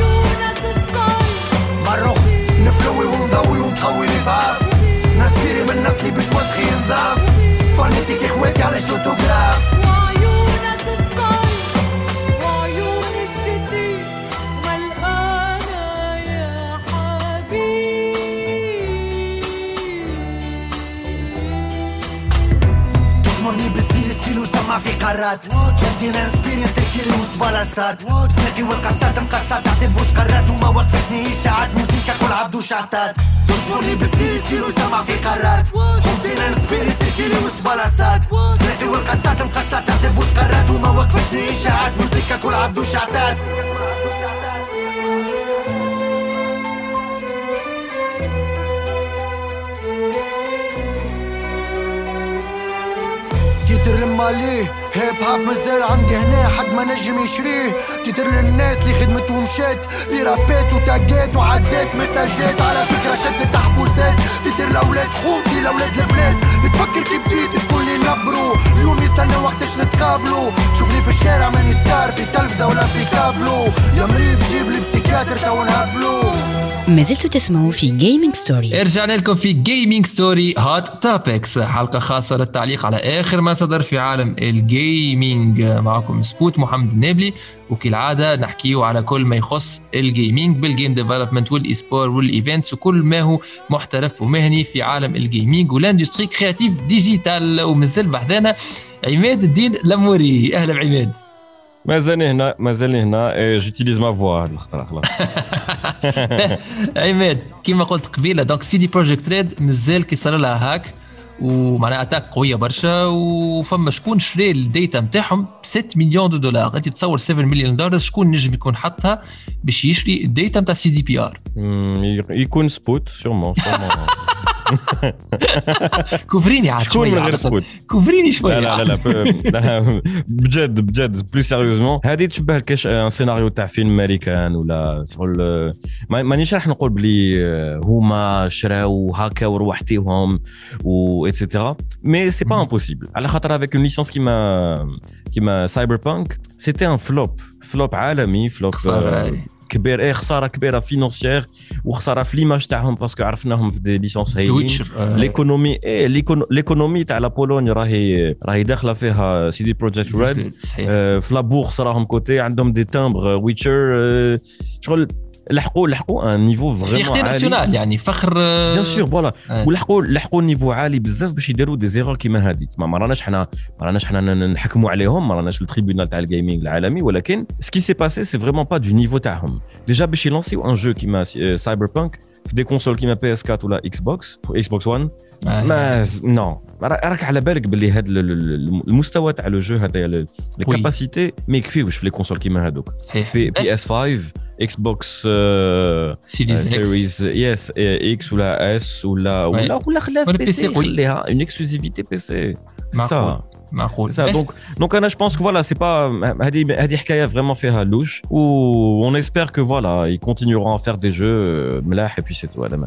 مروخ نفلوي ونضوي ونقوي نضعف ناس فيري من نسلي مش مسخي نضاف فانيتك اخواتي على شوتوغراف ما في قارات كانتينا اكسبيرينس تحكيلي وسبالاسات سناقي والقصات مقصات تعطي بوش قارات وما وقفتني اشاعات موسيقى كل عبدو شعطات تصبرني بالستيل ستيل وسمع في قارات كانتينا اكسبيرينس تحكيلي وسبالاسات سناقي والقصات مقصات تعطي بوش قارات وما وقفتني اشاعات موسيقى كل عبدو شعطات تيتر الماليه هيب هاب مازال عندي هنا حد ما نجم يشريه تيتر للناس اللي خدمت ومشات اللي رابات وتاقات وعدات مساجات على فكرة شدت تحبوسات تيتر لأولاد خوتي لأولاد البلاد بتفكر كي بديت شكون اللي نبرو اليوم يستنى وقتش نتقابلو شوفني في الشارع ماني سكار في تلفزة ولا في كابلو يا مريض جيب لي بسيكاتر تو نهبلو ما زلتوا تسمعوا في جيمنج ستوري. رجعنا لكم في جيمنج ستوري هات توبكس حلقة خاصة للتعليق على آخر ما صدر في عالم الجيمنج. معكم سبوت محمد النابلي وكالعادة نحكيه على كل ما يخص الجيمنج بالجيم ديفلوبمنت والإسبور والإيفنتس وكل ما هو محترف ومهني في عالم الجيمنج والاندستري كرياتيف ديجيتال. ومازال بحثنا عماد الدين لموري. أهلا بعماد. مازالني هنا مازالني هنا جوتيليز ما فوا هاد الخطره خلاص. عماد كيما قلت قبيله دونك سي دي بروجيكت ريد مازال كي صار لها هاك ومعناها اتاك قويه برشا وفما شكون شري الديتا نتاعهم ستة مليون دولار. انت تصور سبعة مليون دولار شكون نجم يكون حطها باش يشري الديتا نتاع سي دي بي ار؟ يكون سبوت سيرمون سيرمون. كوفريني عاد شويه من غير سبوت كوفريني شويه. لا لا لا بجد بجد بلو سيريوزمون هذه تشبه الكاش ان سيناريو تاع فيلم امريكان ولا شغل مانيش راح نقول بلي هما شراو هكا وروحتيهم و ايتترا مي سي با امبوسيبل على خاطر افيك اون ليسونس كيما كيما سايبر بانك سيتي ان فلوب فلوب عالمي فلوب كبير ايه خساره كبيره فينانسيير وخساره في ليماج تاعهم باسكو عرفناهم في دي ليسونس هايلين ليكونومي ايه ليكونومي تاع لا بولونيا راهي راهي داخله فيها سي دي بروجيكت ريد في لا بورصه راهم كوتي عندهم دي تامبر ويتشر شغل لحقوا لحقوا ان نيفو فريمون عالي ناسيونال يعني فخر بيان سور فوالا ولحقوا لحقوا نيفو عالي بزاف باش يديروا دي زيرور كيما هذه ما راناش حنا ما راناش حنا نحكموا عليهم ما راناش التريبيونال تاع الجيمنج العالمي ولكن سكي سي باسي سي فريمون با دو نيفو تاعهم ديجا باش يلونسيو ان جو كيما سايبر بانك في دي كونسول كيما بي اس أربعة ولا اكس بوكس اكس بوكس واحد ما نو راك على بالك باللي هذا المستوى تاع لو جو هذا الكاباسيتي ما يكفيوش في لي كونسول كيما هذوك بي اس خمسة اكس بوكس سيريز يس اكس ولا اس ولا ولا ولا خلاها بي سي خليها اون اكسكلوزيفيتي بي سي سا معقول ça donc donc انا je pense que voilà c'est pas هذه هذه حكايه vraiment فيها لوج و on espère que voilà ils continueront à faire des jeux ملاح et puis c'est tout هذا ما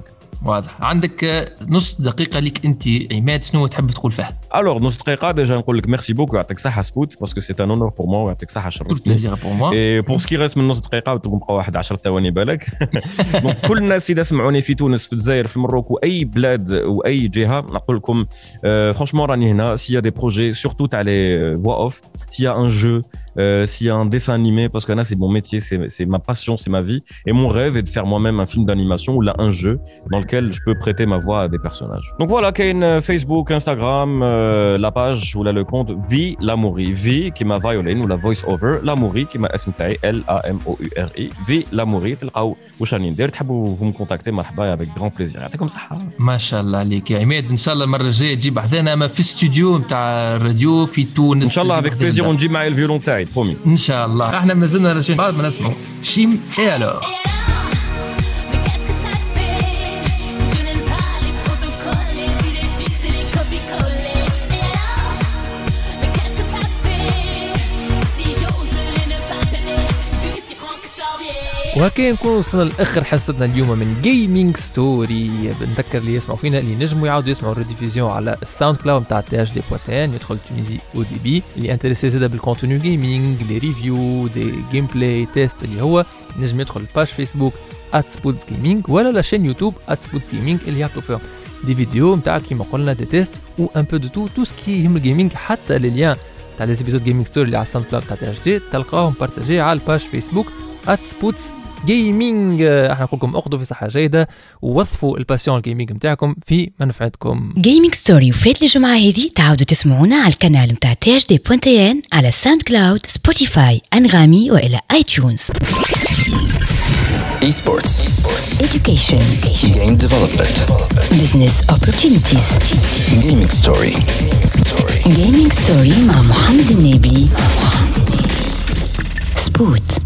واضح. عندك نص دقيقة لك أنت عماد، شنو تحب تقول فيها؟ Alors نص دقيقة ديجا نقول لك ميرسي بوكو يعطيك صحة سبوت باسكو سي ان اونور بور موا ويعطيك صحة شرفتني. tout plaisir pour moi. Et pour ce qui reste من نص دقيقة تبقى واحد عشر ثواني بالك. دونك كل الناس اللي سمعوني في تونس في الجزائر في المروك وأي بلاد وأي جهة نقول لكم فرانشمون راني هنا. s'il y a des projets surtout تاع les voix off, s'il y a un jeu, Euh, s'il y a un dessin animé, parce que là c'est mon métier, c'est, c'est ma passion, c'est ma vie, et mon rêve est de faire moi-même un film d'animation ou là un jeu dans lequel je peux prêter ma voix à des personnages. Donc voilà, Kane, Facebook, Instagram, euh, la page ou là le compte Vi Lamouri, Vi qui m'a violin ou la voice over, Lamouri qui m'a اسم تاعي L A M O U R I, Vi Lamouri. تلقاو واش راني ندير، تحبوا vous me contacter مرحبا avec grand plaisir. يعطيكم صحة. ما شاء الله عليك يا عماد، ان شاء الله المرة الجاية تجيب حذانا ما في استوديو نتاع الراديو في تونس. ان شاء الله avec plaisir ونجيب معي الفيولون تاعي برومي. ان شاء الله. احنا ما زلنا راجعين بعد ما نسمعوا شيم اي الو. وهكا نكون وصلنا لاخر حصتنا اليوم من جيمنج ستوري. بنذكر اللي يسمعوا فينا اللي نجموا يعاودوا يسمعوا الريديفيزيون على الساوند كلاود نتاع تي اش دي بوتين، يدخل تونيزي او دي بي. اللي انتريسي زاده بالكونتوني جيمنج، لي ريفيو، دي جيم بلاي تيست، اللي هو نجم يدخل الباج فيسبوك @سبوتس جيمنج ولا لا شين يوتيوب @سبوتس جيمنج اللي يحطوا فيهم دي فيديو نتاع كيما قلنا دي تيست و ان بو دو تو تو سكي يهم الجيمنج. حتى لي ليان تاع لي زيبيزود جيمنج ستوري اللي على الساوند كلاود تاع تي اش دي تلقاهم بارطاجي على الباج فيسبوك @سبوتس جيمنج. احنا نقول لكم اخذوا في صحه جيده ووظفوا الباسيون الجيمنج نتاعكم في منفعتكم. جيمنج ستوري وفات الجمعه هذه تعاودوا تسمعونا على القناه نتاع تي اش دي بوينت ان على ساوند كلاود، سبوتيفاي، انغامي والى اي تيونز. Esports. Education. Game development. Business opportunities. Gaming story. Gaming story مع محمد النبي. سبوت.